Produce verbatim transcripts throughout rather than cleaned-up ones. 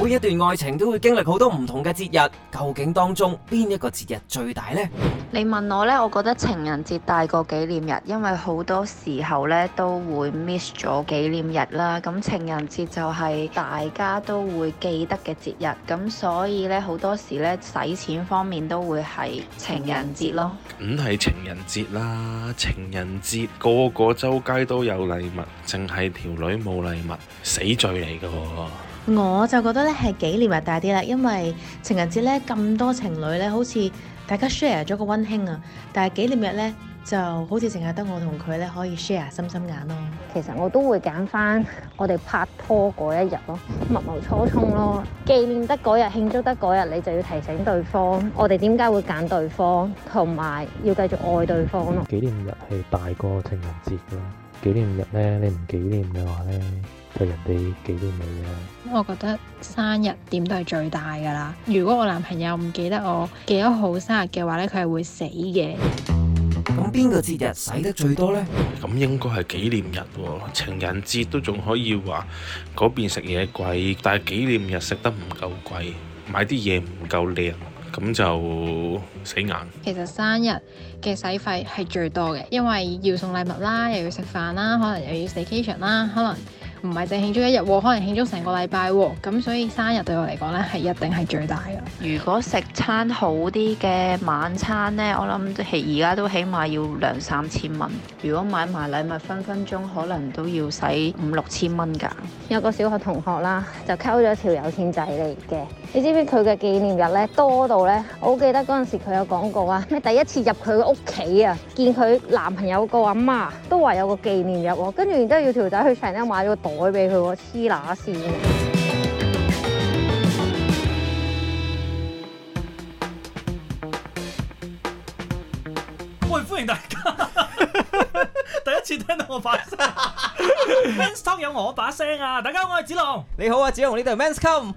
每一段愛情都會經歷好多唔同嘅節日，究竟當中邊一個節日最大呢？ 你問我呢，我覺得情人節大過紀念日，因為好多時候呢都會 miss 咗紀念日啦。咁情人節就係大家都會記得嘅節日，咁所以呢，好多時呢使錢方面都會係情人節咯。 梗係情人節啦！情人節個個周街都有禮物，淨係條女冇禮物，死罪嚟㗎喎。 我就覺得咧係紀念日大啲啦，因為情人節咧咁多情侶咧，好似大家 share 咗個溫馨啊，但係紀念日咧就好似淨係得我同佢咧可以 share 心心眼咯。 其實我都會揀翻我哋拍拖嗰一日咯，密謀初衷咯，紀念得嗰日，慶祝得嗰日，你就要提醒對方，我哋點解會揀對方，同埋要繼續愛對方咯。 紀念日係大過情人節咯，紀念日咧你唔紀念嘅話咧，就人哋紀念你啊。 我覺得生日點都係最大㗎啦。如果我男朋友唔記得我幾多號生日嘅話咧，佢係會死嘅。 咁邊個節日使得最多呢？ 咁應該係紀念日喎，情人節都仲可以話嗰邊食嘢貴，但係紀念日食得唔夠貴，買啲嘢唔夠靚，咁就死硬。 其實生日嘅使費係最多嘅，因為要送禮物啦，又要食飯啦，可能又要 staycation 啦，可能唔係淨慶祝一日，可能慶祝成個禮拜喎。咁所以生日對我嚟講咧，係一定係最大嘅。 如果食餐好啲嘅晚餐呢，我諗係而家都起碼要兩三千蚊。如果買埋禮物，分分鐘可能都要使五六千蚊㗎。 有個小學同學啦，就溝咗條有錢仔嚟嘅。你知唔知佢嘅紀念日咧多到咧？我好記得嗰陣時佢有講過啊，咩第一次入佢嘅屋企啊，見佢男朋友個阿媽都話有個紀念日喎，跟住然之後要條仔去 Chanel 買咗個袋俾佢喎，黐乸線。 喂，歡迎大家！第一次聽到我把聲，Men's Talk 有我把聲啊！大家好，我係子龍。 你好啊，子龍，呢度係 Men's Come。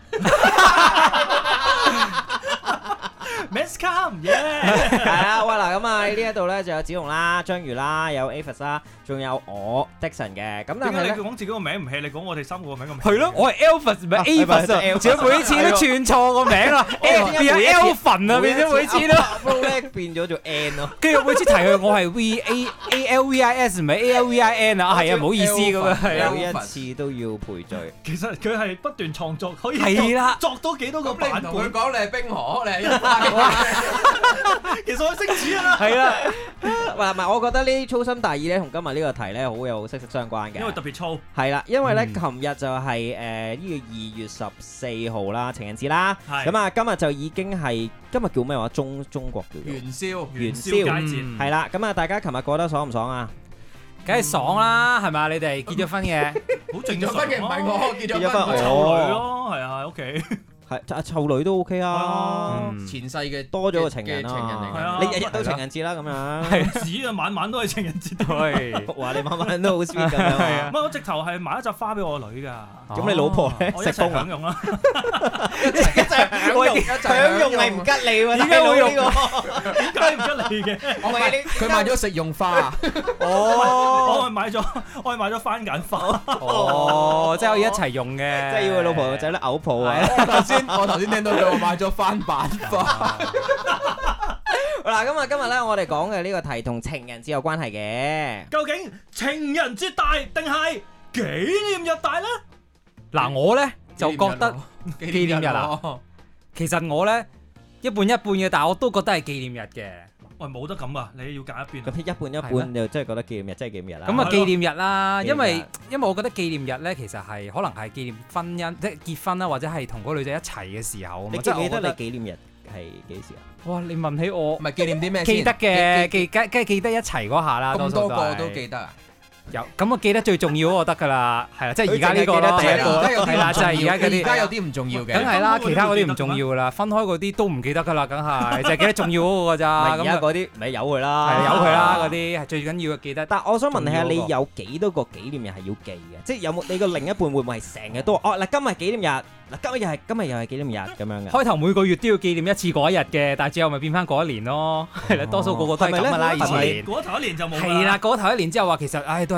Men's Come，耶！ 係啊，喂嗱，咁啊呢一度咧就有子龍啦、章魚啦、有 Avis 啦，仲有我 Dixon 嘅。咁但係咧， 你講自己個名唔係，你講我哋三個個名咁名。 係咯，我係 Alvis 唔係 Avis 啊，仲有每次都串錯個名啊，變咗 Alvin 啊，變咗每次都變咗做 N 咯。 跟住每次提佢，我係 V A A L V I S 唔係 A L V I N 啊，係啊，唔好意思咁啊，係啊， 每一次都要賠罪。 其實佢係不斷創作，可以係啦， 作多幾多個版本。 佢講你係冰河，你係一塊。 其實我識煮啊。 係啦， 嗱，唔係，我覺得呢啲粗心大意咧，同今日呢個題咧好有息息相關嘅。 因為特別粗。 係啦，因為咧，琴日就係誒呢個二月十四號啦，情人節啦。係。咁啊，今日就已經係今日叫咩話？中中國叫元宵。 元宵佳節。 係啦，咁啊，大家琴日過得爽唔爽啊？ 梗係爽啦，係咪？你哋結咗婚嘅？ 好正常。結咗婚嘅唔係我，結咗婚湊女咯，係啊，喺屋企。 係啊，湊女都 OK 啊， 前世嘅多咗個情人啊， 你日日都情人節啦咁樣， 係紙啊，晚晚都係情人節， 係話你晚晚都好 sweet 咁樣， 係啊，唔係我直頭係買一扎花俾我女㗎， 咁你老婆咧我一齊享用啦， 一齊一齊享用，享用係唔吉利喎，點解會用呢個？ 點解唔吉利嘅？ 我買佢買咗食用花， 哦，我係買咗，我係買咗番梘花， 哦，即係可以一齊用嘅， 即係要佢老婆仔咧嘔泡啊！ 我頭先聽到佢話買咗番板花。 嗱，咁啊，今日咧我哋講嘅呢個題同情人節有關係嘅。 究竟情人節大定係紀念日大咧？ 嗱，我咧就覺得紀念日啊。其實我咧一半一半嘅，但係我都覺得係紀念日嘅。 喂，冇得咁啊！你要揀一邊。 咁一半一半，就真係覺得紀念日真係紀念日啦。 咁啊，紀念日啦，因為因為我覺得紀念日咧，其實係可能係紀念婚姻，即係結婚啦，或者係同嗰個女仔一齊嘅時候。 你記唔記得你紀念日係幾時啊？ 哇！你問起我， 唔係紀念啲咩先？ 記得嘅，記梗梗係記得一齊嗰下啦。 咁多個都記得啊？ 有咁我記得最重要嗰個得㗎啦，係啦，即係而家呢個咯，係啦，就係而家嗰啲。 而家有啲唔重要嘅， 梗係啦，其他嗰啲唔重要㗎啦，分開嗰啲都唔記得㗎啦，梗係就係記得重要嗰個咋。 而家嗰啲咪由佢啦， 係由佢啦，嗰啲係最緊要嘅記得。 但係我想問下，你有幾多個紀念日係要記嘅？即係有冇你個另一半會唔會係成日都話哦嗱，今日紀念日。嗱，今日又係今日又係紀念日咁樣嘅。開頭每個月都要紀念一次嗰一日嘅，但係最後咪變翻嗰一年咯。係啦，多數個個都係咁噶啦。以前過咗頭一年就冇。 係啦，過咗頭一年之後話其實，唉，都係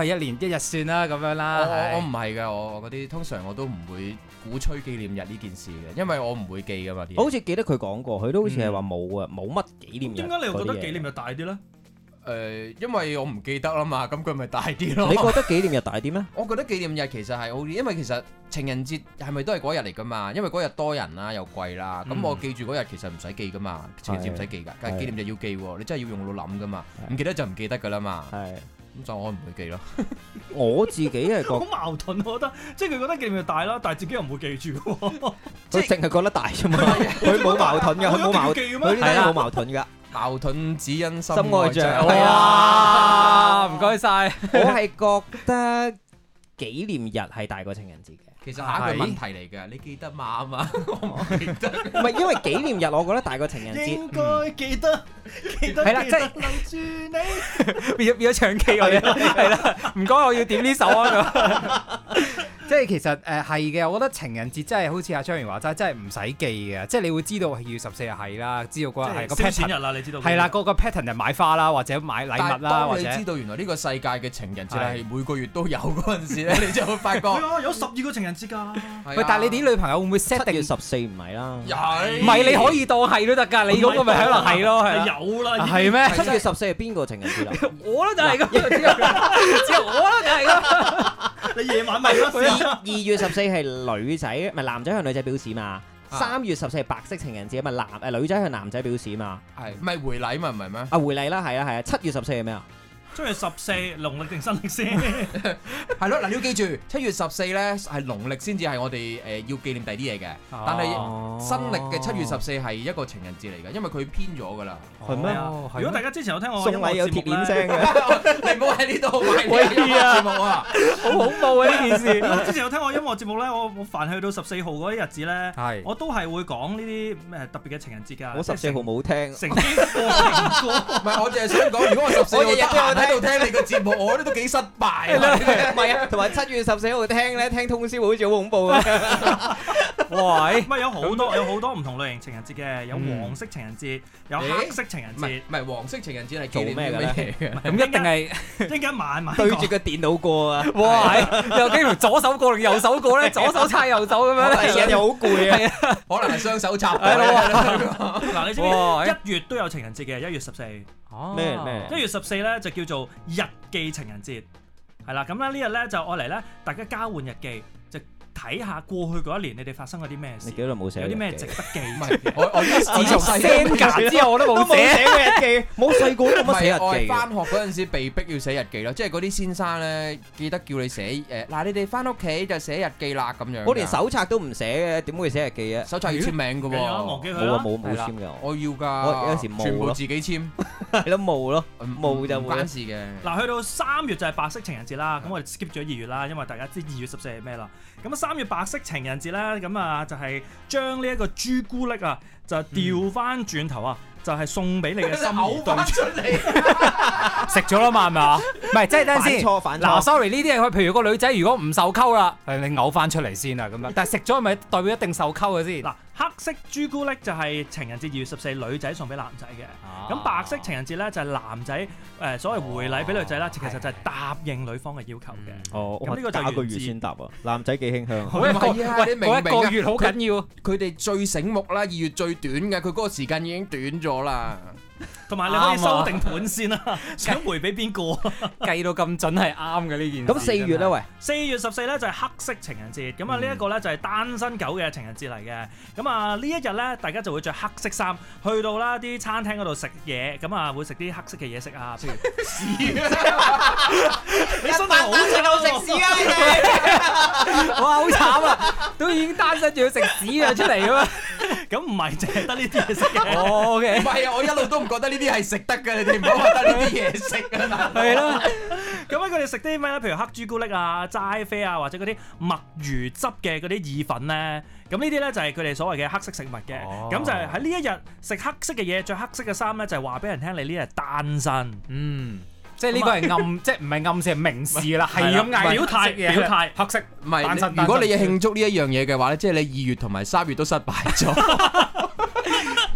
一年一日算啦咁樣啦。 我我唔係㗎，我嗰啲通常我都唔會鼓吹紀念日呢件事嘅，因為我唔會記㗎嘛。 我好似記得佢講過，佢都好似係話冇啊，冇乜紀念日。 點解你又覺得紀念日大啲咧？ 誒，因為我唔記得啦嘛，咁佢咪大啲咯。 你覺得紀念日大啲咩？ 我覺得紀念日其實係好啲，因為其實情人節係咪都係嗰日嚟㗎嘛？因為嗰日多人啦，又貴啦，咁我記住嗰日其實唔使記㗎嘛，情人節唔使記㗎，但係紀念日要記喎，你真係要用腦諗㗎嘛，唔記得就唔記得㗎啦嘛。係，咁就我唔會記咯。我自己係覺好矛盾，我覺得，即係佢覺得紀念日大啦，但係自己又唔會記住喎。 佢淨係覺得大啫嘛，佢冇矛盾㗎，佢冇矛盾，佢呢啲冇矛盾㗎。 矛盾只因心愛着。 哇！唔該晒。 我係覺得紀念日係大過情人節嘅。 其實下一個問題嚟嘅，你記得嘛嘛？我唔記得。 唔係因為紀念日，我覺得大過情人節。 應該記得，記得。 係啦，即係留住你。 變咗變咗唱 K 我哋係啦，唔該我要點呢首啊咁。即係其實誒係嘅，我覺得情人節真係好似阿張元話齋，真係唔使記嘅，即係你會知道二月十四日係啦，知道嗰日係個 pattern 日啦，你知道係啦，嗰個 pattern 就買花啦，或者買禮物啦，或者你知道原來呢個世界嘅情人節係每個月都有嗰陣時咧，你就會發覺有十二個情人節㗎。 喂，但係你啲女朋友會唔會 set 定七月十四唔係啦？ 唔係你可以當係都得㗎，你嗰個咪可能係咯，係有啦。 係咩？ 七月十四係邊個情人節啊？ 我咧就係咁，只有我咧就係咁。 你夜晚咪咯。 二月十四係女仔，唔係男仔向女仔表示嘛。三月十四係白色情人節，咪男誒女仔向男仔表示嘛。 係咪回禮嘛？唔係咩？ 啊回禮啦，係啊係啊。七月十四係咩啊？ 七月十四農曆定新曆先？ 係咯，嗱你要記住，七月十四咧係農曆先至係我哋誒要紀念第啲嘢嘅，但係新曆嘅七月十四係一個情人節嚟㗎，因為佢偏咗㗎啦。 係咩？ 如果大家之前有聽我送禮有鐵鏈聲嘅， 你唔好喺呢度買音樂節目啊！ 好恐怖啊呢件事！ 如果之前有聽我音樂節目咧，我我凡去到十四號嗰啲日子咧，我都係會講呢啲咩特別嘅情人節㗎。 我十四號冇聽， 成經過情歌。 唔係，我淨係想講，如果我十四號日喺度聽你個節目，我覺得都幾失敗啊！ 唔係啊，同埋七月十四號聽咧，聽通宵好似好恐怖啊！ 哇！唔係有好多有好多唔同類型情人節嘅，有黃色情人節，有黑色情人節。 唔係黃色情人節係做咩嘅咧？ 咁一定係一間晚晚對住個電腦過啊！ 哇！又經常左手過定右手過咧，左手叉右手咁樣， 係啊，又好攰啊！ 可能係雙手插。 嗱，你知唔知一月都有情人節嘅？一月十四。 咩咩？ 一月十四咧就叫做日記情人節，係啦，咁咧呢日咧就愛嚟咧，大家交換日記，就睇下過去嗰一年你哋發生咗啲咩事。 你幾耐冇寫？ 有啲咩值得記？ 唔係，我我自從 Senga 之後我都冇寫寫過日記，冇細個都冇寫日記。 我係翻學嗰陣時被逼要寫日記咯，即係嗰啲先生咧記得叫你寫誒，嗱你哋翻屋企就寫日記啦咁樣。 我連手冊都唔寫嘅，點會寫日記啊？ 手冊要簽名㗎喎。 忘記佢冇啊冇冇簽㗎。 我要㗎。 我有時冇咯。 全部自己簽。 係咯冇咯，冇就唔關事嘅。 嗱，去到三月就係白色情人節啦，咁我哋 skip 咗二月啦，因為大家知二月十四係咩啦。咁啊三月白色情人節咧，咁啊就係將呢一個朱古力啊，就調翻轉頭啊，就係送俾你嘅心儀對象。出嚟食咗啦嘛，係咪啊？唔係，即係等陣先。嗱，sorry，呢啲係譬如個女仔如果唔受溝啦，係你嘔翻出嚟先啊咁樣。但係食咗係咪代表一定受溝嘅先？ 嗱，黑色朱古力就係情人節二月十四女仔送俾男仔嘅。咁、啊、白色情人節咧就係男仔誒所謂回禮俾女仔啦，哦、其實就係答應女方嘅要求嘅。 哦， 咁呢個就打個月先答啊，男仔幾傾向。 唔係啊，你明唔明啊？ 一個月好緊要， 佢哋最醒目啦，二月最短嘅，佢嗰個時間已經短咗啦。 同埋你可以收定盤先啦，想回俾邊個？ 計到咁準係啱嘅呢件事。 咁四月咧，喂， 四月十四咧就係黑色情人節，咁啊呢一個咧就係單身狗嘅情人節嚟嘅。咁啊呢一日咧，大家就會着黑色衫去到啦啲餐廳嗰度食嘢，咁啊會食啲黑色嘅嘢食啊，譬如屎啊！你真係好正好食屎啊！你哋哇好慘啊，都已經單身仲要食屎啊出嚟嘅咩？ 咁唔係淨係得呢啲嘢食嘅。 哦 OK， 唔係啊，我一路都唔覺得呢啲係食得嘅，你哋唔好覺得呢啲嘢食啊！ 係咯， 咁咧佢哋食啲咩咧？譬如黑朱古力啊、齋啡啊，或者嗰啲墨魚汁嘅嗰啲意粉咧，咁呢啲咧就係佢哋所謂嘅黑色食物嘅。咁、哦、就係喺呢一日食黑色嘅嘢，着黑色嘅衫咧，就係話俾人聽你呢日係單身。 嗯。即係呢個係暗，即係唔係暗示係明示啦，係咁嗌表態表態黑色。 唔係，如果你要慶祝呢一樣嘢嘅話咧，即係你二月同埋三月都失敗咗。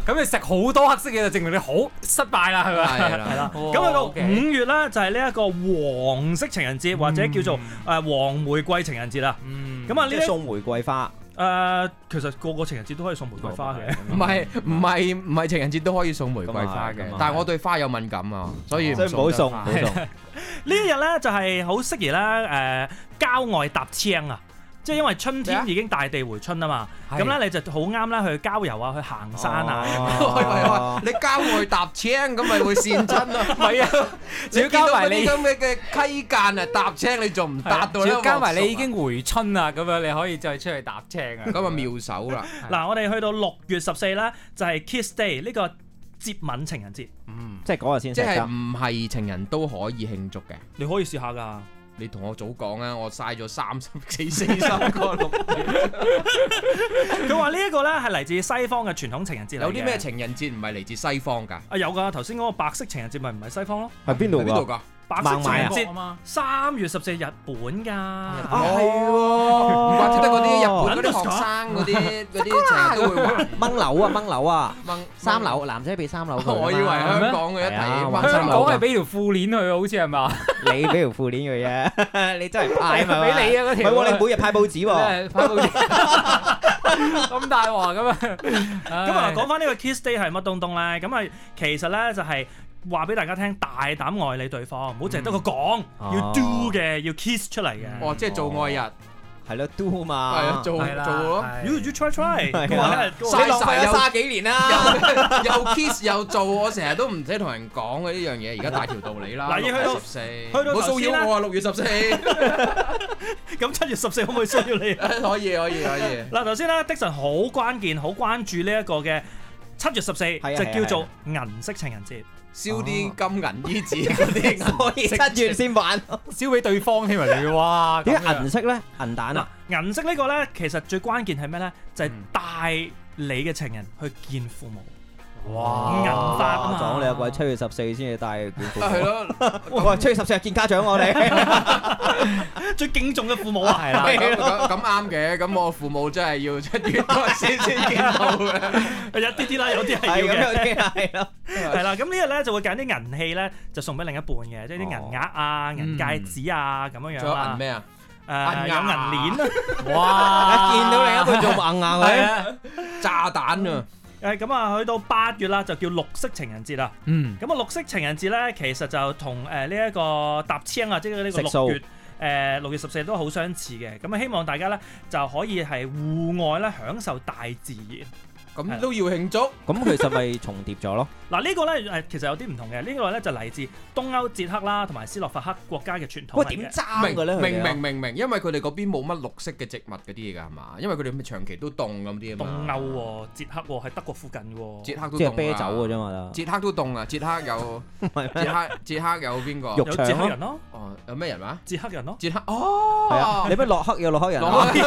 咁你食好多黑色嘢就證明你好失敗啦，係咪？ 係啦， 係啦。咁去到五月咧，就係呢一個黃色情人節，或者叫做誒黃玫瑰情人節啦。咁啊，呢送玫瑰花。 誒，其實個個情人節都可以送玫瑰花嘅。 唔係唔係唔係情人節都可以送玫瑰花嘅，但係我對花有敏感啊，所以唔好送。唔好送。 呢一日咧就係好適宜咧誒郊外踏青啊！即係因為春天已經大地回春啊嘛，咁咧你就好啱咧去郊遊啊，去行山啊。 係咪你郊外踏青咁咪會跣親啊？唔係啊， 仲要加埋你咁嘅嘅溪澗啊，踏青你仲唔踏到咧？ 仲要加埋你已經回春啊，咁樣你可以再出去踏青啊。 咁啊妙手啦！ 嗱，我哋去到六月十四咧，就係 Kiss Day 呢個接吻情人節。 嗯，即係嗰日先食得。 即係唔係情人都可以慶祝嘅？ 你可以試下㗎。 你同我早講啊！我嘥咗三十幾四十個六月。 佢話呢一個咧係嚟自西方嘅傳統情人節嚟嘅。 有啲咩情人節唔係嚟自西方㗎？ 啊有㗎，頭先嗰個白色情人節咪唔係西方咯？ 係邊度㗎？ 白色情人節嘛，三月十四日本㗎。 啊係喎，唔怪之得嗰啲日本嗰啲學生嗰啲嗰啲成日都會玩掹樓啊掹樓啊掹三樓，男仔俾三樓。 我以為香港嘅一睇， 香港係俾條褲鏈佢，好似係嘛？ 你俾條褲鏈佢啫，你真係派嘛？ 俾你啊嗰條。 唔係喎，你每日派報紙喎。 派報紙。咁大鑊咁啊！ 咁啊，講翻呢個 Kiss Day 係乜東東咧？咁啊，其實咧就係話俾大家聽，大膽愛你對方，唔好淨係得個講，要 do 嘅，要 kiss 出嚟嘅。 哦，即係做愛日。 係咯 ，do 嘛， 係啊，做做咯 ，you you try try， 你浪費咗卅幾年啦， 又 kiss 又做，我成日都唔使同人講嘅呢樣嘢，而家大條道理啦。 嗱，要去到十四， 去到冇騷擾我啊！六月十四， 咁七月十四可唔可以騷擾你？ 可以可以可以。 嗱，頭先咧，Dixon好關鍵，好關注呢一個嘅七月十四，就叫做銀色情人節。 燒啲金銀衣紙嗰啲， 所以七月先玩， 燒俾對方添啊！你哇， 點解銀色咧？銀彈啊！ 銀色呢個咧，其實最關鍵係咩咧？就係帶你嘅情人去見父母。 哇！ 銀髮啊嘛！ 講你有鬼七月十四先至帶去見父母。 係咯， 我七月十四日見家長，我哋最敬重嘅父母啊！ 係啦，咁咁啱嘅。咁我父母真係要七月先先見到嘅。 有啲啲啦，有啲係要嘅。 有啲係咯。 係啦，咁呢日咧就會揀啲銀器咧，就送俾另一半嘅，即係啲銀額啊、銀戒指啊咁樣樣啦。 仲有銀咩啊？ 誒有銀鏈啊！ 哇！見到另一半做硬硬佢， 炸彈啊！ 誒咁啊，去到八月啦，就叫綠色情人節啦。嗯。咁啊，綠色情人節咧，其實就同誒呢一個踏青啊，即係呢個六月誒六月十四都好相似嘅。咁啊，希望大家咧就可以係戶外咧享受大自然。 咁都要慶祝， 咁其實咪重疊咗咯。 嗱呢個咧誒其實有啲唔同嘅，呢個咧就嚟自東歐捷克啦同埋斯洛伐克國家嘅傳統。 喂，點爭嘅咧？ 明明明明，因為佢哋嗰邊冇乜綠色嘅植物嗰啲嘢㗎係嘛？因為佢哋長期都凍咁啲啊嘛。 東歐喎，捷克喎，喺德國附近喎。 捷克都凍啊！ 即係啤酒嘅啫嘛。捷克都凍啊！捷克有捷克捷克有邊個？ 有捷克人咯。 哦，有咩人話？ 捷克人咯。 捷克哦， 係啊！你不洛克有洛克人。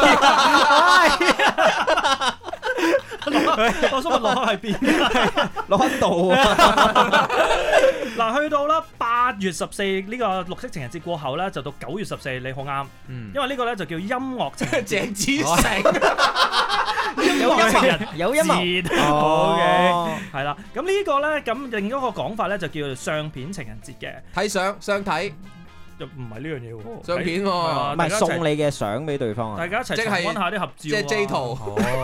我想問洛克喺邊？ 洛克道啊！ 嗱，去到啦八月十四呢個綠色情人節過後咧，就到九月十四，你好啱。嗯。因為呢個咧就叫音樂情人節。鄭子誠。有音樂人，有音樂。好嘅。係啦，咁呢個咧，咁另一個講法咧就叫做相片情人節嘅。 睇相，相睇。 又唔係呢樣嘢喎， 相片喎， 唔係送你嘅相俾對方啊！ 大家一齊重溫下啲合照， 即係 J 圖。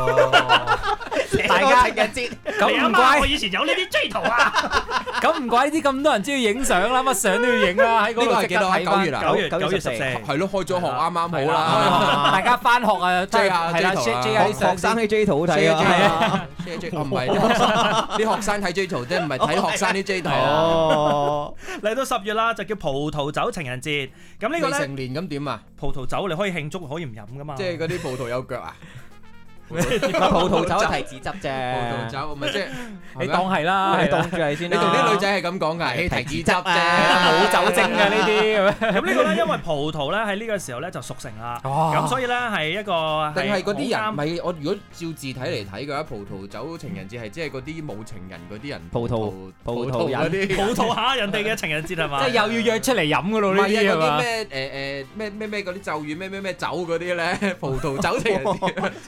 大家情人節， 咁唔怪我以前有呢啲 J 圖啊！ 咁唔怪呢啲咁多人中意影相啦，乜相都要影啦。喺嗰度即刻睇翻。 九月啊， 九月九月十四，係咯，開咗學啱啱好啦。 大家翻學啊，J 下 J 圖啦， 學生啲 J 圖好睇啊 ！J J 唔係啲學生睇 J 圖啫，唔係睇學生啲 J 圖。 哦，嚟到十月啦，就叫葡萄酒情人節。咁呢個咧， 未成年咁點啊？ 葡萄酒你可以慶祝，可以唔飲噶嘛？ 即係嗰啲葡萄有腳啊？ 葡萄酒係提子汁啫， 葡萄酒咪即係你當係啦， 你當住係先啦。 你同啲女仔係咁講㗎，提子汁啫， 冇酒精嘅呢啲。 咁呢個咧，因為葡萄咧喺呢個時候咧就熟成啦，咁所以咧係一個定係嗰啲人咪我如果照字體嚟睇嘅話，葡萄酒情人節係即係嗰啲冇情人嗰啲人葡萄葡萄嗰啲葡萄下人哋嘅情人節係嘛？ 即係又要約出嚟飲㗎咯呢啲係嘛？ 咩誒誒咩咩咩嗰啲咒語咩咩咩酒嗰啲咧，葡萄酒情人節即係可以令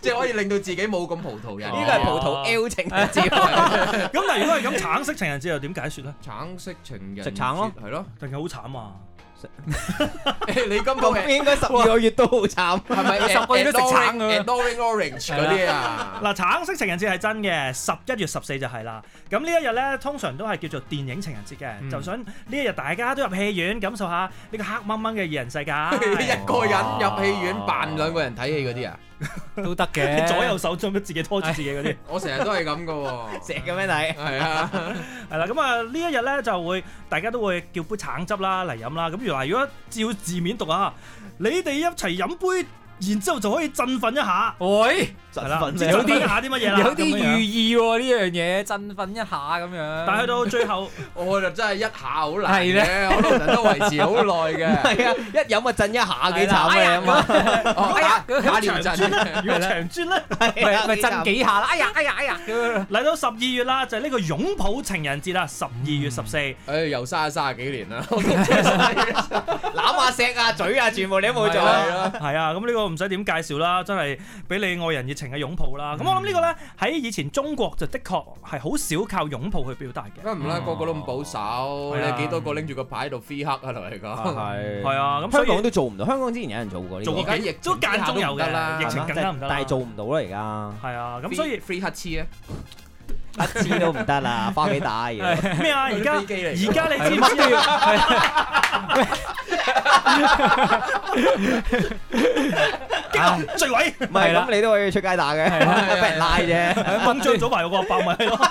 到自己冇咁葡萄人。 呢個係葡萄 L 情人節。 咁但係如果係咁，橙色情人節又點解説咧？ 橙色情人食橙咯， 係咯， 定係好慘啊！ 你今個應該十二個月都好慘， 係咪十個月都食橙嘅 ？Adoring Orange 嗰啲啊！ 嗱，橙色情人節係真嘅，十一月十四就係啦。咁呢一日咧，通常都係叫做電影情人節嘅，嗯、就想呢一日大家都入戲院感受下呢個黑掹掹嘅二人世界。 一個人入戲院扮兩個人睇戲嗰啲啊！ 都得嘅， 左右手做乜自己拖住自己嗰啲， 我成日都係咁噶喎， 成日咁樣睇， 係啊， 係啦，咁啊呢一日咧就會大家都會叫杯橙汁啦嚟飲啦，咁原來如果照字面讀啊，你哋一齊飲杯。然之後就可以振奮一下， 喂， 係啦， 振奮一下啲乜嘢啦， 有啲寓意喎呢樣嘢，振奮一下咁樣。 但係去到最後， 我就真係一下好難嘅，我通常都維持好耐嘅。 係啊，一飲啊震一下幾慘嘅啊嘛。 哎呀，假連震， 如果長磚咧， 係啊， 咪震幾下啦？哎呀，哎呀，哎呀！ 嚟到十二月啦，就係呢個擁抱情人節啦，十二月十四。 誒，又嘥咗卅幾年啦， 攬下錫啊、嘴啊，全部你都冇做。 係啊，咁呢個。唔使點介紹啦，真係俾你愛人熱情嘅擁抱啦。咁、嗯、我諗呢個咧喺以前中國就的確係好少靠擁抱去表達嘅。 梗唔啦，個個都咁保守，你幾多個拎住個牌喺度 free hug 啊？同你講係係啊，咁香港都做唔到。香港之前有人做過呢個， 做過幾都間中有嘅啦，疫情更加唔得， 但係做唔到啦而家。 係啊，咁所以 free hug 黐啊！ 一次都唔得啦，翻幾打嘢咩啊？而家而家你知唔知啊？墜位唔係咁，你都可以出街打嘅，俾人拉啫。 掹張早排個阿伯咪係咯，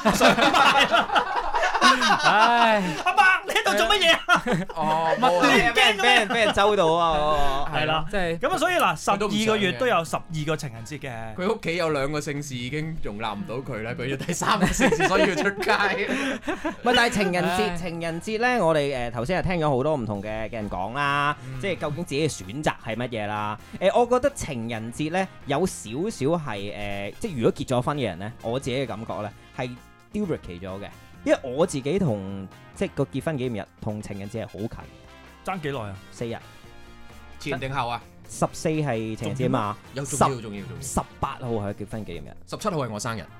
唉，阿伯你喺度做乜嘢啊？哦，乜都驚嘅咩？ 俾人周到啊！ 係啦，即係咁啊！所以嗱，十二個月都有十二個情人節嘅。 佢屋企有兩個姓氏已經容納唔到佢啦，佢要第三個姓氏，所以要出街。 唔係，但係情人節，情人節咧，我哋誒頭先係聽咗好多唔同嘅嘅人講啦，即係究竟自己嘅選擇係乜嘢啦？誒，我覺得情人節咧有少少係誒，即係如果結咗婚嘅人咧，我自己嘅感覺咧係 duplicate 咗嘅。因為我自己同即係個結婚紀念日同情人節係好近， 爭幾耐啊？ 四日， 前定後啊？ 十四係情人節嘛？ 有重要重要重要。 十八號係結婚紀念日， 十七號係我生日。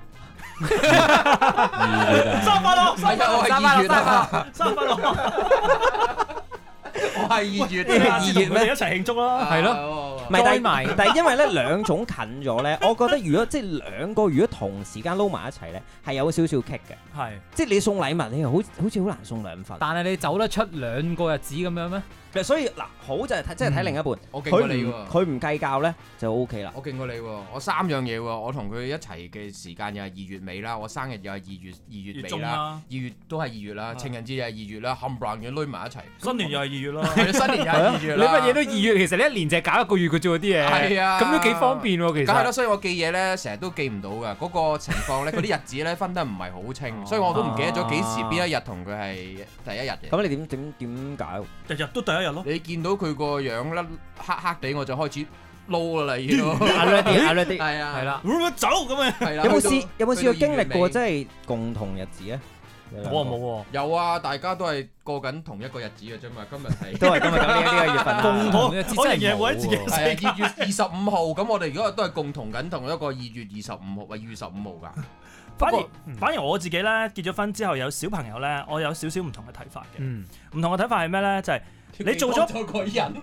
二月啊！ 生日快樂！ 係啊，我係二月啊！ 生日快樂！ 我係二月， 二月咩？一齊慶祝啦！ 係咯。 唔係，但係但係因為咧兩種近咗咧，我覺得如果即係兩個如果同時間撈埋一齊咧，係有少少棘嘅。 係，即係你送禮物，你又好好似好難送兩份。 但係你走得出兩個日子咁樣咩？ 所以嗱，好就係睇，即係睇另一半。 我勁過你喎， 佢唔計較咧就 O K 啦。 我勁過你喎，我三樣嘢喎，我同佢一齊嘅時間又係二月尾啦，我生日又係二月二月尾啦，二月都係二月啦，情人節又係二月啦，冚唪唥嘅攆埋一齊。 新年又係二月啦， 係新年又係二月啦。 你乜嘢都二月，其實你一年就係搞一個月嘅啫喎啲嘢。 係啊， 咁都幾方便喎其實。 梗係啦，所以我記嘢咧，成日都記唔到㗎。嗰個情況咧，嗰啲日子咧分得唔係好清，所以我都唔記得咗幾時邊一日同佢係第一日嘅。 咁你點點點解？ 日日都第一日咯。 你見到佢個樣甩黑黑地，我就開始撈啦，已經。 係啊， 係啦。會唔會走咁樣？ 有冇試有冇試過經歷過即係共同日子啊？ 我啊冇喎。 有啊，大家都係過緊同一個日子嘅啫嘛。今日係都係今日咁呢呢個月份。 共同日子真係冇。 係啊，二月二十五號，咁我哋而家都係共同緊同一個二月二十五號，喂，二月十五號㗎。 反而反而我自己咧結咗婚之後有小朋友咧，我有少少唔同嘅睇法嘅。唔、嗯、同嘅睇法係咩咧？就係、是、你做咗個人，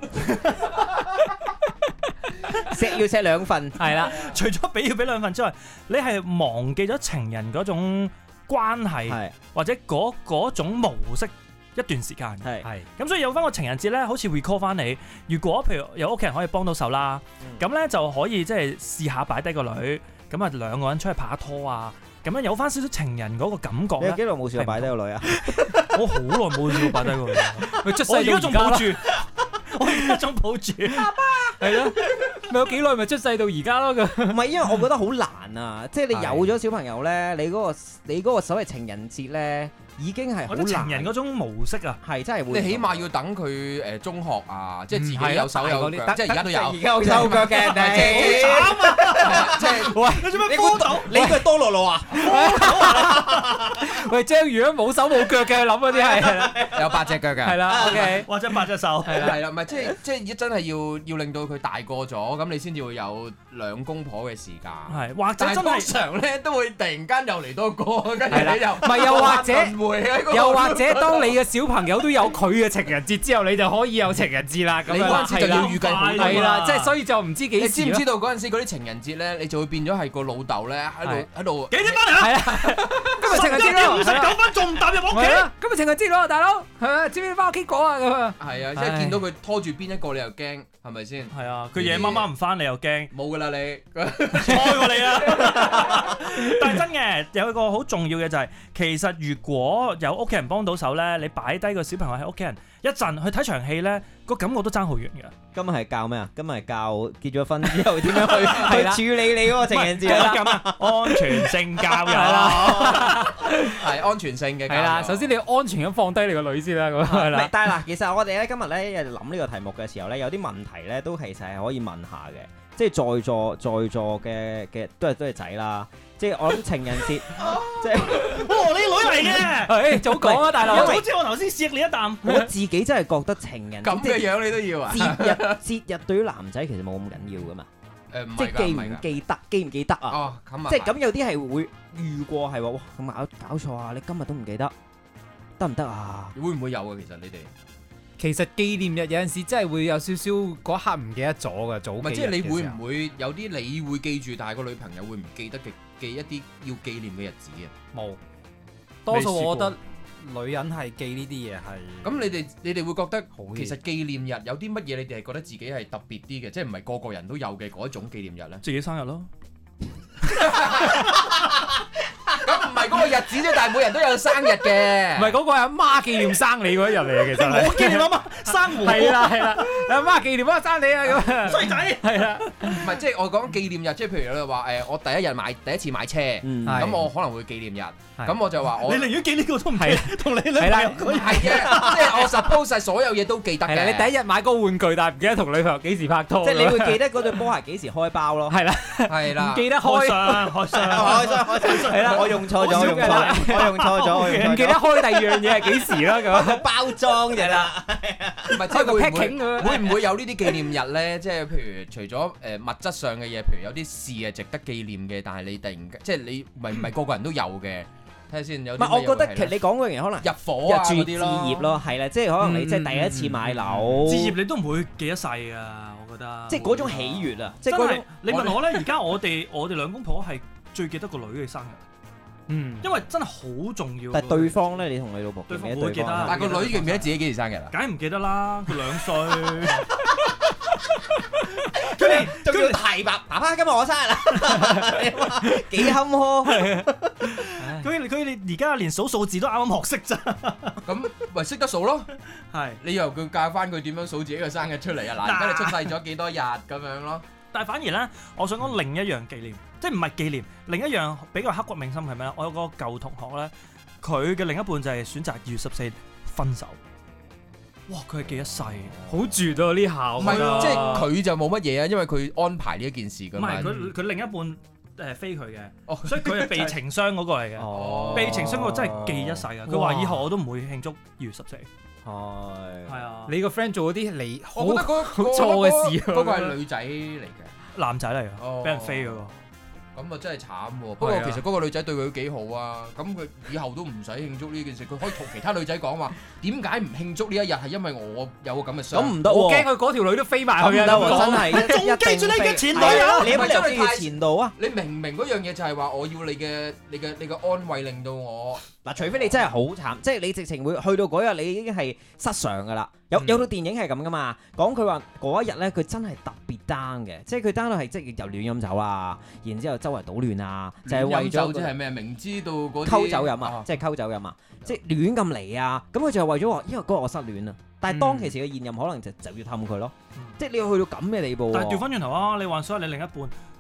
錫要錫兩份， 係啦。除咗俾要俾兩份之外，你係忘記咗情人嗰種關係， 是或者嗰嗰種模式一段時間。係係咁，所以有翻個情人節咧，好似 recall 翻你。如果譬如有屋企人可以幫到手啦，咁咧、嗯、就可以即係試下擺低個女，咁啊兩個人出去拍下拖啊。咁樣有翻少少情人嗰個感覺咧。 你有幾耐冇試過擺低個女啊？ 我好耐冇試過擺低個女。我而家仲抱住，我而家仲抱住。爸爸。 係咯。咪有幾耐咪出世到而家咯？咁。 唔係，因為我覺得好難啊！即係你有咗小朋友咧，你嗰個你嗰個所謂情人節咧，已經係好難。 情人嗰種模式啊， 係真係會。 你起碼要等佢誒中學啊，即係自己有手有腳，即係而家都有。 而家有手腳嘅你。 即係喂， 你做咩幫到？ 你佢多樂樂啊？ 喂，章魚都冇手冇腳嘅，諗嗰啲係有八隻腳嘅， 係啦，OK， 或者八隻手， 係啦係啦，唔係即係即係真係要要令到佢大個咗，咁你先至會有兩公婆嘅時間。 係，或者但係真係通常咧都會突然間又嚟多個，跟住你又唔係又或者輪迴喺嗰個又或者當你嘅小朋友都有佢嘅情人節之後，你就可以有情人節啦。咁你嗰陣時就要預計好係啦，即係所以就唔知幾時。 你知唔知道嗰陣時嗰啲情人節咧，你就會變咗係個老豆咧喺度喺度幾點翻嚟啊？ 係啊，今日情人節咯， 五十九分仲唔踏入屋企？ 今日情人節咯，大佬係咪？知唔知翻屋企講啊？咁啊， 係啊，即係見到佢拖住邊一個你又驚，係咪先？ 係啊，佢夜媽媽唔翻你又驚， 冇噶啦你， 錯過你啦。但係真嘅有一個好重要嘅就係，其實如果有屋企人幫到手咧，你擺低個小朋友喺屋企人一陣去睇場戲咧，個感覺都爭好遠嘅。 今日係教咩啊？今日係教結咗婚之後點樣去去處理你嗰個情人節啦。 咁啊，安全性教育啦， 係安全性嘅。 係啦，首先你要安全咁放低你個女先啦，咁係啦。 但係嗱，其實我哋咧今日咧諗呢個題目嘅時候咧，有啲問題咧都其實係可以問下嘅。即係在座在座嘅嘅都係都係仔啦。即係我諗情人節，即係哦，你女嚟嘅， 誒早講啊，大佬。 早知我頭先錫你一啖。 我自己真係覺得情人咁嘅樣你都要啊？ 節日節日對於男仔其實冇咁緊要噶嘛。 誒唔即係記係㗎， 唔記得記唔記得啊？ 哦，咁啊， 即係咁有啲係會遇過係話哇咁搞搞錯啊！你今日都唔記得，得唔得啊？ 會唔會有啊？其實你哋？ 其實紀念日有陣時真係會有少少嗰刻唔記得咗嘅，早幾日嘅時候。 唔係即係你會唔會有啲你會記住，但係個女朋友會唔記得嘅記一啲要紀念嘅日子啊？ 冇，多數我覺得女人係記呢啲嘢係。 咁你哋你哋會覺得其實紀念日有啲乜嘢你哋係覺得自己係特別啲嘅，即係唔係個個人都有嘅嗰一種紀念日咧？ 自己生日咯。 咁唔係嗰個日子啫，但係每人都有生日嘅。 唔係嗰個係阿媽紀念生你嗰一日嚟嘅，其實。 我紀念阿媽生我。 係啦係啦，阿媽紀念阿媽生你啊咁。 衰仔。係啦。 唔係即係我講紀念日，即係譬如你話誒，我第一日買第一次買車，咁我可能會紀念日，咁我就話我。 你寧願記呢個都唔記，同你女朋友嗰日。 係嘅，即係我 suppose 晒所有嘢都記得嘅。 你第一日買嗰個玩具，但係唔記得同女朋友幾時拍拖。 即係你會記得嗰對波鞋幾時開包咯。 係啦， 係啦。 唔記得開箱，開箱， 開箱，開箱。係啦，我用錯咗，我用錯，我用錯咗，我用錯咗。 唔記得開第二樣嘢係幾時啦咁。 包裝嘅啦， 唔係即係會唔會會唔會有呢啲紀念日咧？即係譬如除咗誒物質上嘅嘢，譬如有啲事係值得紀念嘅，但係你突然間即係你唔係唔係個個人都有嘅。睇下先有。唔係，我覺得其實你講嗰樣嘢可能入伙啊嗰啲咯， 置業咯，係啦，即係可能你即係第一次買樓， 置業你都唔會記得世㗎，我覺得。 即係嗰種喜悅啊！即係嗰種。你問我咧，而家我哋我哋兩公婆係最記得個女嘅生日。嗯，因為真係好重要。 但係對方咧，你同你老婆記唔記得對方？ 但係個女記唔記得自己幾時生日啊？ 梗係唔記得啦，佢兩歲。 佢哋仲要提爸爸爸今日我生日啦，幾坎坷。 佢佢哋而家連數數字都啱啱學識咋。 咁咪識得數咯。 係。 你由佢教翻佢點樣數自己嘅生日出嚟啊？嗱，而家你出世咗幾多日咁樣咯。 但係反而咧，我想講另一樣紀念，即係唔係紀念，另一樣比較刻骨銘心係咩咧？我有個舊同學咧，佢嘅另一半就係選擇二月十四分手。哇！佢係記一世， 好絕啊！呢下唔係，即係佢就冇乜嘢啊，因為佢安排呢一件事㗎嘛。 唔係佢佢另一半誒飛佢嘅，哦，所以佢係被情傷嗰個嚟嘅。哦，被情傷嗰個真係記一世㗎。佢話以後我都唔會慶祝二月十四。係係啊！ 你個 friend 做嗰啲你， 我覺得嗰好錯嘅事。 嗰個係女仔嚟嘅， 男仔嚟嘅，俾人飛嗰個。 咁啊真係慘喎！不過其實嗰個女仔對佢幾好啊，咁佢以後都唔使慶祝呢件事，佢可以同其他女仔講話點解唔慶祝呢一日係因為我有個咁嘅傷。 咁唔得喎！ 我驚佢嗰條女都飛埋去啊！ 真係仲記住你嘅前女友， 你有乜理由記前度啊？ 你明唔明嗰樣嘢就係話我要你嘅你嘅你嘅安慰，令到我嗱，除非你真係好慘，即係你直情會去到嗰日你已經係失常㗎啦。有有套電影係咁噶嘛，講佢話嗰一日咧，佢真係特別 down 嘅，即係佢 down 到係即係又亂飲酒啊，然之後周圍搗亂啊，就係為咗即係咩？明知道嗰啲溝酒飲啊，即係溝酒飲啊，即係亂咁嚟啊，咁佢就係為咗話，因為嗰日我失戀啊，但係當其時嘅現任可能就就要氹佢咯，即係你要去到咁嘅地步。 但係調翻轉頭啊，你幻想下你另一半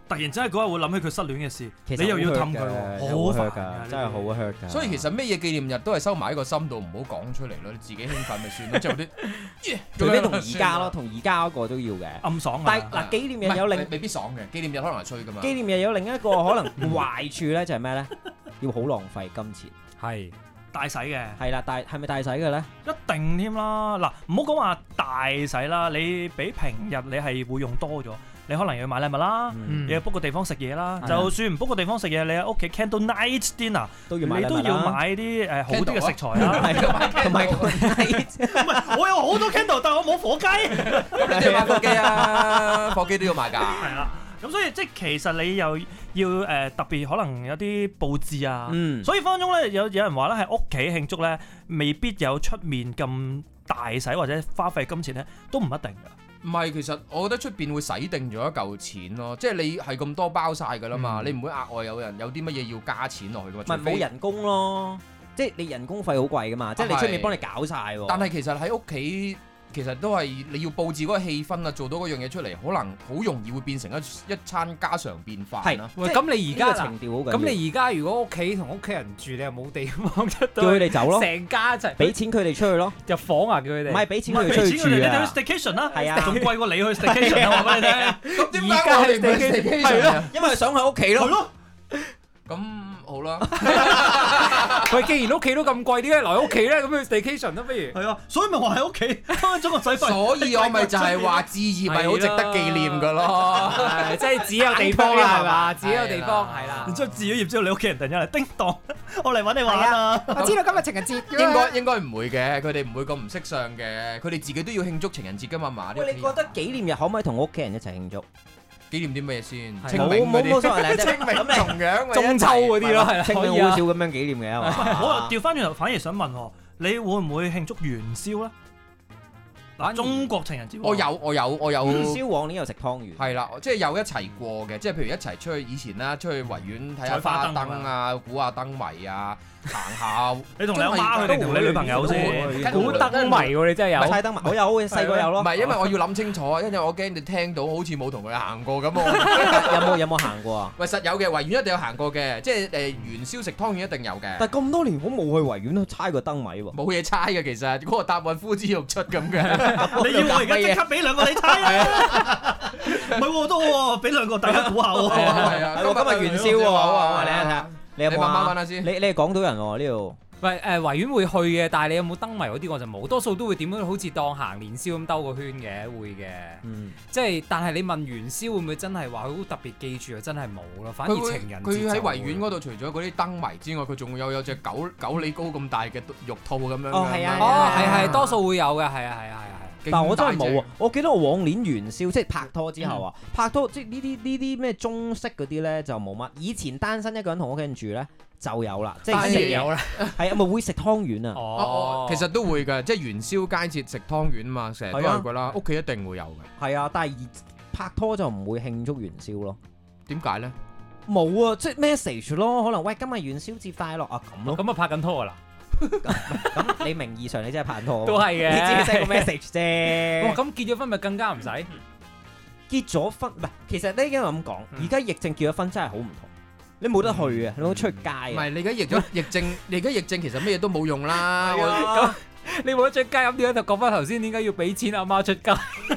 突然之間嗰日會諗起佢失戀嘅事， 其實你又要氹佢喎，好煩㗎，真係好 hurt 㗎。 所以其實咩嘢紀念日都係收埋喺個心度，唔好講出嚟咯。你自己興奮咪算咯，即係嗰啲， 除非同而家咯，同而家嗰個都要嘅暗爽。 但係嗱，紀念日有另未必爽嘅，紀念日可能係衰㗎嘛。 紀念日有另一個可能壞處咧，就係咩咧？要好浪費金錢， 係大洗嘅， 係啦，大係咪大洗嘅咧？ 一定添啦！嗱，唔好講話大洗啦，你比平日你係會用多咗。你可能要買禮物啦， 嗯、 你要 book 個地方食嘢啦。 嗯、 就算唔 book 個地方食嘢，你喺屋企 candle night dinner 都要買禮物啦， 你都要買啲誒好啲嘅食材啦。同埋唔係，我有好多 candle，但係我冇火雞。 咁你要買火機啊，火機都要買㗎。 係啦，咁所以即係其實你又要誒、呃、特別可能有啲佈置啊。嗯、所以分分鐘咧有有人話咧喺屋企慶祝咧，未必有出面咁大使或者花費金錢咧，都唔一定㗎。 唔係，其實我覺得出邊會使定咗一嚿錢咯，即係你係咁多包晒㗎啦嘛，嗯、你唔會額外有人有啲乜嘢要加錢落去㗎嘛？ 唔係冇人工咯，即係你人工費好貴㗎嘛，即係你出面幫你搞晒喎。 但係其實喺屋企。其實都係你要佈置嗰個氣氛啊，做到嗰樣嘢出嚟，可能好容易會變成一一餐家常便飯。係， 喂，咁你而家情調好緊要。 咁你而家如果屋企同屋企人住，你又冇地方出到， 叫佢哋走咯， 成家一齊俾錢佢哋出去咯， 入房啊，叫佢哋。 唔係俾錢佢哋出去住啊， 你哋去 staycation 啦， 係啊， 仲貴過你去 staycation 啊！我話俾你聽。 咁點解我哋唔去 staycation？係咯， 因為想喺屋企咯。 係咯。 咁好啦， 喂，既然屋企都咁貴，點解留喺屋企咧？咁去 staycation 咯，不如？ 係啊，所以咪話喺屋企分咗個使費。 所以我咪就係話置業咪好值得紀念噶咯， 即係只有地方啦，係嘛？只有地方係啦。 然之後置咗業之後，你屋企人突然間嚟叮當，我嚟揾你玩啊！ 我知道今日情人節。 應該應該唔會嘅，佢哋唔會咁唔識相嘅，佢哋自己都要慶祝情人節噶嘛嘛。 喂，你覺得紀念日可唔可以同屋企人一齊慶祝？ 紀念啲咩先？ 清明嗰啲， 清明重陽、 中秋嗰啲咯，係啦， 清明好少咁樣紀念嘅係嘛？ 我調翻轉頭，反而想問喎，你會唔會慶祝元宵咧？嗱，中國情人節， 我有我有我有。 元宵往年又食湯圓， 係啦，即係有一齊過嘅，即係譬如一齊出去以前啦，出去維園睇下花燈啊，估下燈謎啊。行下， 你同你阿媽去定同你女朋友先？ 估燈謎喎，你真係有？ 猜燈謎，我有嘅，細個有咯。 唔係，因為我要諗清楚啊，因為我驚你聽到好似冇同佢行過咁。我有冇有冇行過啊？ 喂，實有嘅，維園一定有行過嘅，即係誒元宵食湯圓一定有嘅。 但係咁多年我冇去維園都猜過燈謎喎。 冇嘢猜嘅，其實嗰個答案呼之欲出咁嘅。 你要我而家即刻俾兩個你猜啊？唔係喎，都喎，俾兩個大家估下喎。 係啊， 今日元宵喎，好啊，你睇下。你有冇慢慢揾下先？ 你你係港島人喎呢度。 喂誒，維園會去嘅，但係你有冇燈謎嗰啲我就冇，多數都會點樣好似當行年宵咁兜個圈嘅，會嘅。嗯。即係，但係你問元宵會唔會真係話好特別記住啊？真係冇咯，反而情人節佢喺維園嗰度，除咗嗰啲燈謎之外，佢仲有有隻九九里高咁大嘅玉兔咁樣。 哦，係啊。 哦，係係，多數會有嘅，係啊，係啊，係啊。 但係我真係冇啊！我記得我往年元宵即係拍拖之後啊，嗯、拍拖即係呢啲呢啲咩中式嗰啲咧就冇乜。以前單身一個人同屋企人住咧就有啦，即係食有啦，係啊，咪會食湯圓啊！ 哦，其實都會嘅，即係元宵佳節食湯圓啊嘛，成日都係㗎啦，屋企一定會有嘅。 係啊，但係拍拖就唔會慶祝元宵咯。 點解咧？ 冇啊，即係 message 咯，可能喂今日元宵節快樂啊咁咯。 咁啊拍緊拖㗎啦！ 咁你名義上你真係拍拖， 都係嘅， 你只係 send 個 message 啫。 哇！咁結咗婚咪更加唔使？ 結咗婚唔係，其實咧因為咁講，而家疫症結咗婚真係好唔同，你冇得去啊，你冇得出街啊。 唔係你而家疫咗疫症，你而家疫症其實咩嘢都冇用啦。 咁你冇得出街，咁點解就講翻頭先點解要俾錢阿媽出街？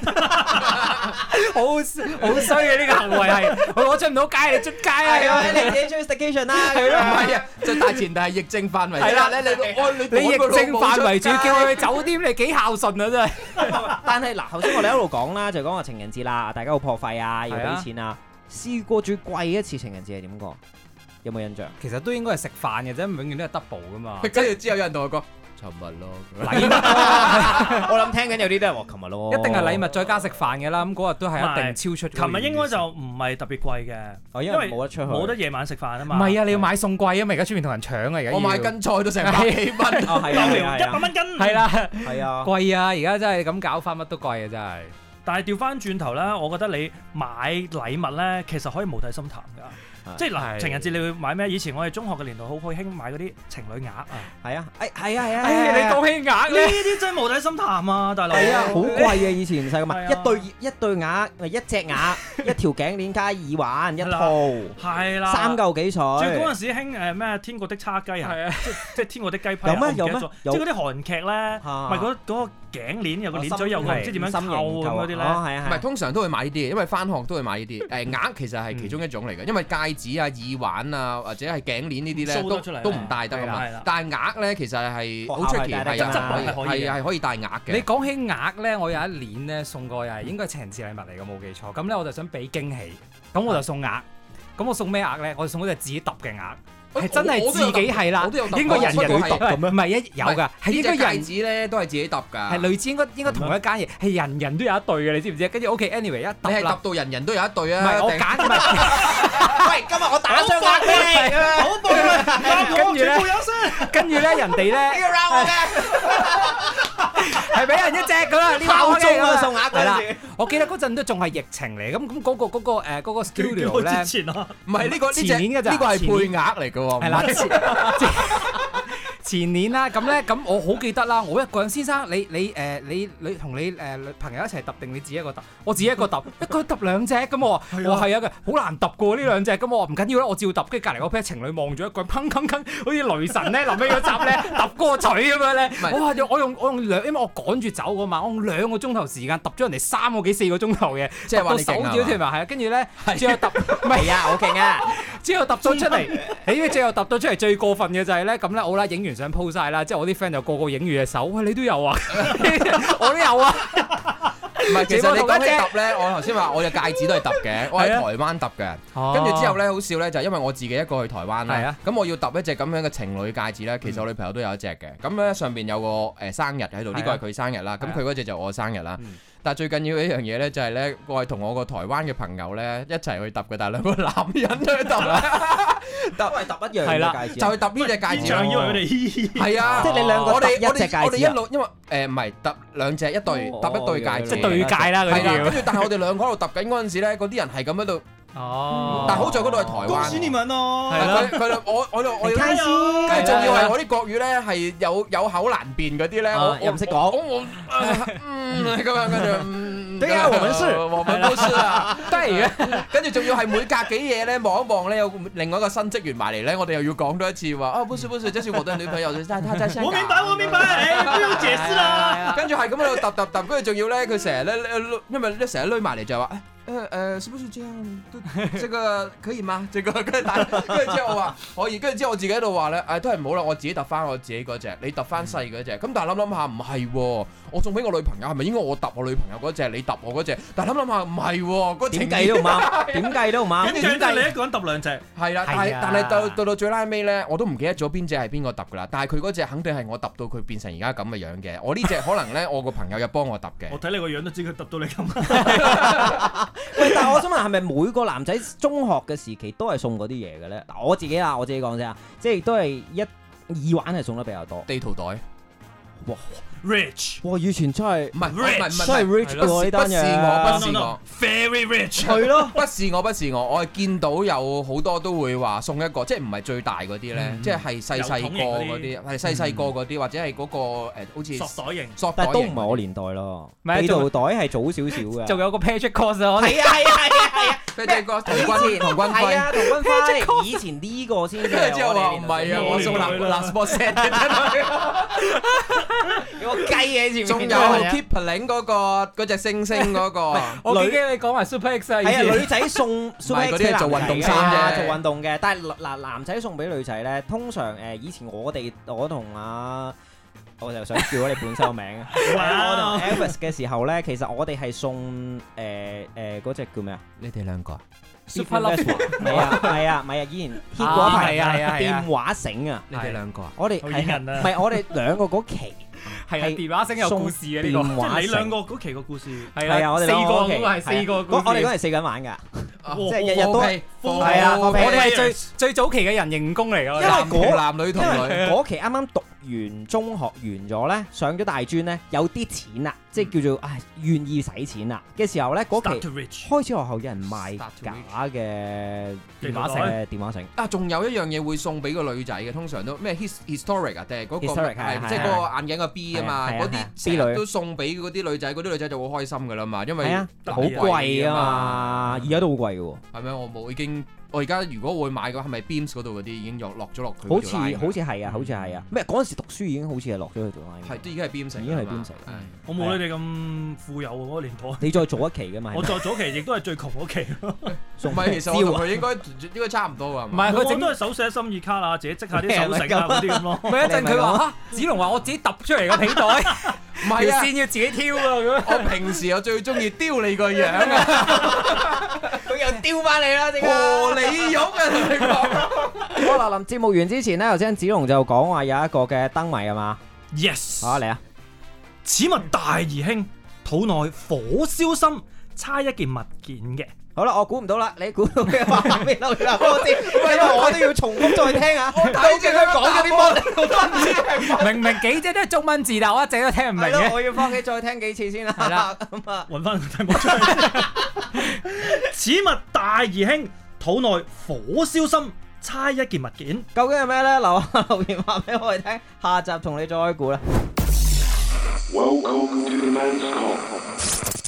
好好衰嘅呢個行為係，我出唔到街，你出街啊！ 你自己出去 staycation 啦， 係咯，唔係啊，就大前提係疫症範圍。係啦，你你你疫症範圍仲要叫佢去酒店，你幾孝順啊真係。 但係嗱，頭先我哋一路講啦，就講話情人節啦，大家好破費啊，要俾錢啊。試過最貴一次情人節係點過？有冇印象？ 其實都應該係食飯嘅啫，永遠都係 double 噶嘛。 跟住之後有人同我講。琴日咯， 禮物我諗聽緊有啲都係話琴日咯， 一定係禮物再加食飯嘅啦。咁嗰日都係一定超出。 琴日應該就唔係特別貴嘅， 因為冇得出去， 冇得夜晚食飯啊嘛。 唔係啊，你要買餸貴啊嘛，而家出面同人搶啊，而家。 我買斤菜都成百幾蚊， 一百蚊斤。 係啦， 係啊， 貴啊！而家真係咁搞翻乜都貴啊，真係。 但係調翻轉頭咧，我覺得你買禮物咧，其實可以無底深談㗎。 即係嗱，情人節你會買咩？以前我哋中學嘅年代好好興買嗰啲情侶額啊。係啊， 誒係啊係啊。 誒你講起額咧，呢啲真係無底深潭啊，大佬。 係啊，好貴嘅以前細個買一對一對額，咪一隻額，一條頸鏈加耳環一套。係啦。三嚿幾水。最嗰陣時興誒咩天國的叉雞啊？係啊，即即天國的雞批。有咩有咩？即係嗰啲韓劇咧，咪嗰嗰個頸鏈有個鏈嘴，有個唔知點樣扣咁嗰啲咧。 唔係通常都會買呢啲，因為翻學都會買呢啲。誒額其實係其中一種嚟嘅，因為戒指啊、耳環啊或者係頸鏈呢啲咧都都唔戴得㗎嘛。但係額咧其實係好出奇，係啊係係可以戴額嘅。 你講起額咧，我有一年咧送過又係應該係情人節禮物嚟嘅，冇記錯。咁咧我就想俾驚喜，咁我就送額。咁我送咩額咧？我就送嗰隻自己揼嘅額。係真係自己係啦，應該人人都揼咁樣，唔係一有㗎，係應該人戒指咧都係自己揼㗎， 係類似應該應該同一間嘢，係人人都有一對嘅，你知唔知？跟住 OK，anyway 一揼啦， 你係揼到人人都有一對啊！ 唔係我揀唔係， 喂，今日我打雙額俾你，好棒啊！ 跟住咧，跟住咧，人哋咧，呢個 round 我嘅，係俾人一隻㗎啦，呢個我嘅送額係啦。我記得嗰陣都仲係疫情嚟，咁咁嗰個嗰個誒嗰個 studio 咧， 唔係呢個呢隻呢個係配額嚟㗎。係啦，前年啦，咁咧，咁我好記得啦。我一個人，先生，你你誒你你同你誒朋友一齊揼定你自己一個揼？我自己一個揼，一個揼兩隻咁我話，我係啊嘅，好難揼過呢兩隻咁我話唔緊要啦，我照揼。跟住隔離嗰 pair 情侶望住一個，砰砰砰，好似雷神咧臨尾嗰集咧揼嗰個錘咁樣咧。我話我用我用兩，因為我趕住走㗎嘛，我用兩個鐘頭時間揼咗人哋三個幾四個鐘頭嘅，即係話你勁啊！ 手指條埋係啊，跟住咧最後揼，唔係啊，好勁啊！ 之後揼咗出嚟，誒最後揼到出嚟最過分嘅就係咧，咁咧好啦，影完相 po 曬啦，之後我啲 friend 就個個影完隻手，喂你都有啊，我都有啊。 唔係，其實你講起揼咧，我頭先話我隻戒指都係揼嘅，我喺台灣揼嘅。跟住之後咧，好笑咧，就係因為我自己一個去台灣啦。咁我要揼一隻咁樣嘅情侶戒指咧，其實我女朋友都有一隻嘅。咁咧上邊有個誒生日喺度，呢個係佢生日啦。咁佢嗰隻就我生日啦。但係最緊要一樣嘢咧，就係咧，我係同我個台灣嘅朋友咧一齊去揼嘅，但係兩個男人去揼啦，揼係揼一樣嘅戒指，就係揼呢隻戒指。現場以為佢哋係啊， 即係你兩個我哋我哋我哋一路因為誒唔係揼兩隻一對揼一對戒指， 即係對戒啦嗰啲叫。 跟住但係我哋兩個喺度揼緊嗰陣時咧，嗰啲人係咁喺度。哦，但係好在嗰度係台灣。恭喜你們咯！佢佢我我我我開心，跟住仲要係我啲國語咧係有有口難辨嗰啲咧，我又唔識講。 我嗯咁樣跟住， 對啊，我們是， 我們都是啊，對嘅。跟住仲要係每隔幾夜咧望一望咧，有另外一個新職員埋嚟咧，我哋又要講多一次話啊，不是不是，這是我的女朋友，但係她在香港。我明白，我明白，誒，不用解釋啦。跟住係咁喺度揼揼揼，跟住仲要咧，佢成日咧，因為咧成日攆埋嚟就話。誒誒，是不是這樣？都，這個可以嗎？這個跟住但跟住之後我話可以，跟住之後我自己喺度話咧，誒都係唔好啦，我自己揼翻我自己嗰隻，你揼翻細嗰隻。咁但係諗諗下唔係喎，我送俾我女朋友係咪應該我揼我女朋友嗰隻，你揼我嗰隻？但係諗諗下唔係喎，嗰點計都唔啱，點計都唔啱。點計你一個人揼兩隻？係啦，但係但係到到到最拉尾咧，我都唔記得咗邊隻係邊個揼噶啦。但係佢嗰隻肯定係我揼到佢變成而家咁嘅樣嘅。我呢隻可能咧，我個朋友又幫我揼嘅。我睇你個樣都知佢揼到你咁。喂，但係我想問係咪每個男仔中學嘅時期都係送嗰啲嘢嘅咧？嗱，我自己啊，我自己講先啊，即係都係一耳環係送得比較多。地圖袋，哇 ，rich，哇，以前真係唔係唔係唔係，真係 rich 喎呢單嘢。不是我，不是我 ，very rich。係咯，不是我，不是我，我係見到有好多都會話送一個，即係唔係最大嗰啲咧，即係係細細個嗰啲，係細細個嗰啲，或者係嗰個誒，好似索袋型，索袋型，但係都唔係我年代咯。地圖袋係早少少嘅，仲有個 Patrick Cost 啊，係啊係啊係啊係啊。佢哋個童軍童軍輝，係啊童軍輝，以前呢個先。跟住之後話唔係啊，我送藍藍 sport set 嘅真係。有個雞嘅前面。仲有 Kipling 嗰個嗰隻星星嗰個。我記得你講埋 Super X 啊。係啊，女仔送 Super X 係做運動衫啫，做運動嘅。但係嗱男仔送俾女仔咧，通常誒以前我哋我同阿。我就想叫咗你本身個名啊！我同 Elvis 嘅時候咧，其實我哋係送誒誒嗰隻叫咩啊？你哋兩個 Super Love 係啊係啊，唔係啊！以前 hit 過一排啊電話繩啊！你哋兩個啊？我哋係唔係我哋兩個嗰期係電話繩有故事嘅呢個，即係你兩個嗰期個故事係啊！我哋四個嗰個係四個，我哋嗰係四個人玩㗎，即係日日都係啊，我哋係最最早期嘅人形蜈蚣嚟㗎， 因為嗰男女同女嗰期啱啱讀完中學完咗咧，上咗大專咧，有啲錢啦，即係叫做唉願意使錢啦嘅時候咧，嗰期開始學校有人賣假嘅電話繩、電話繩啊，仲有一樣嘢會送俾個女仔嘅，通常都咩 historic 啊，定係嗰個係即係嗰個眼鏡個 B 啊嘛，嗰啲成日都送俾嗰啲女仔，嗰啲女仔就好開心㗎啦嘛，因為好貴啊嘛，而家都好貴嘅喎。 係咪？我冇已經。我而家如果會買嘅話，係咪 Beams 嗰度嗰啲已經落落咗落佢？ 好似好似係啊，好似係啊。咩嗰陣時讀書已經好似係落咗去條 line。 係，都已經係 Beams， 已經係 Beams。 我冇你哋咁富有喎，嗰個年代。 你再早一期㗎嘛？ 我再早期亦都係最窮嗰期。 唔係，其實我同佢應該應該差唔多㗎。 唔係，佢整都係手寫心意卡啊，自己織下啲手繩啊嗰啲咁咯。 咪一陣佢話嚇，子龍話我自己揼出嚟個皮袋，唔係條線要自己挑啊咁。 我平時我最中意雕你個樣啊！ 佢又丟翻你啦，點解？ 和你喐啊！同你講。 好啦，臨節目完之前咧，頭先子龍就講話有一個嘅燈謎係嘛 ？Yes。 好嚟啊！ 此物大而輕，肚內火燒心，差一件物件嘅。 好啦，我估唔到啦，你估到嘅話俾留言我知，因為我都要重複再聽啊！我睇住佢講咗啲乜，我都唔知。 明明幾隻都係中文字，但我一直都聽唔明嘅。 我要翻屋企再聽幾次先啦。係啦，咁啊， 揾翻個題目出嚟。此物大而輕，肚內火燒心，差一件物件， 究竟係咩咧？留下留言話俾我哋聽，下集同你再估啦。Welcome to the Men's Come。